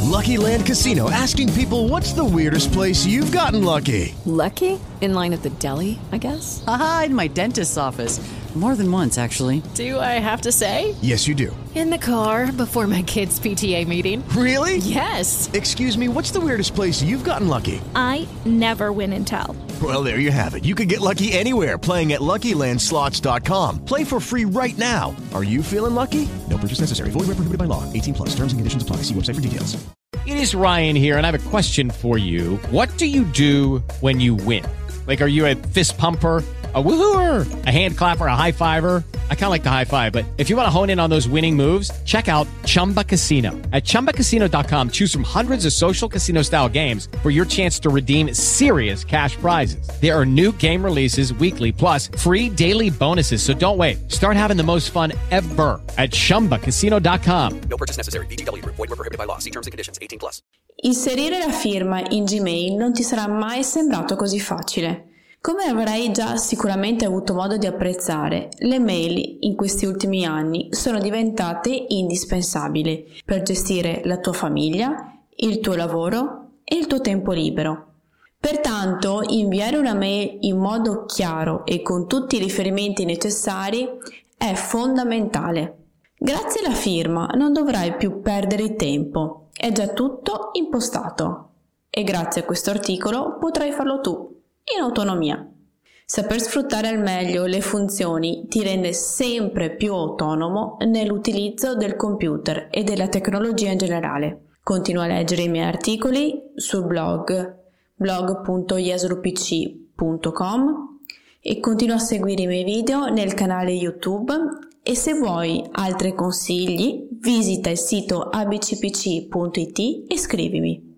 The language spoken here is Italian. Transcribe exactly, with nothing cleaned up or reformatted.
Lucky Land Casino, asking people, what's the weirdest place you've gotten lucky? Lucky? In line at the deli, I guess? Aha, in my dentist's office. More than once, actually. Do I have to say? Yes, you do. In the car before my kids' P T A meeting. Really? Yes. Excuse me, what's the weirdest place you've gotten lucky? I never win and tell. Well, there you have it. You can get lucky anywhere, playing at Lucky Land Slots dot com. Play for free right now. Are you feeling lucky? No purchase necessary. Void where prohibited by law. eighteen plus. Terms and conditions apply. See website for details. It is Ryan here, and I have a question for you. What do you do when you win? Like, are you a fist pumper, a woohooer, a hand clapper, a high fiver? I kind of like the high five, but if you want to hone in on those winning moves, check out Chumba Casino. At Chumba Casino dot com, choose from hundreds of social casino-style games for your chance to redeem serious cash prizes. There are new game releases weekly, plus free daily bonuses, so don't wait. Start having the most fun ever at Chumba Casino dot com. No purchase necessary. V G W. Void where prohibited by law. See terms and conditions. eighteen plus. Inserire la firma in Gmail non ti sarà mai sembrato così facile. Come avrai già sicuramente avuto modo di apprezzare, le mail in questi ultimi anni sono diventate indispensabili per gestire la tua famiglia, il tuo lavoro e il tuo tempo libero. Pertanto, inviare una mail in modo chiaro e con tutti i riferimenti necessari è fondamentale. Grazie alla firma non dovrai più perdere tempo, è già tutto impostato. E grazie a questo articolo potrai farlo tu, in autonomia. Saper sfruttare al meglio le funzioni ti rende sempre più autonomo nell'utilizzo del computer e della tecnologia in generale. Continua a leggere i miei articoli sul blog blog punto yaslupc punto com e continua a seguire i miei video nel canale YouTube, e se vuoi altri consigli visita il sito a b c p c punto i t e scrivimi.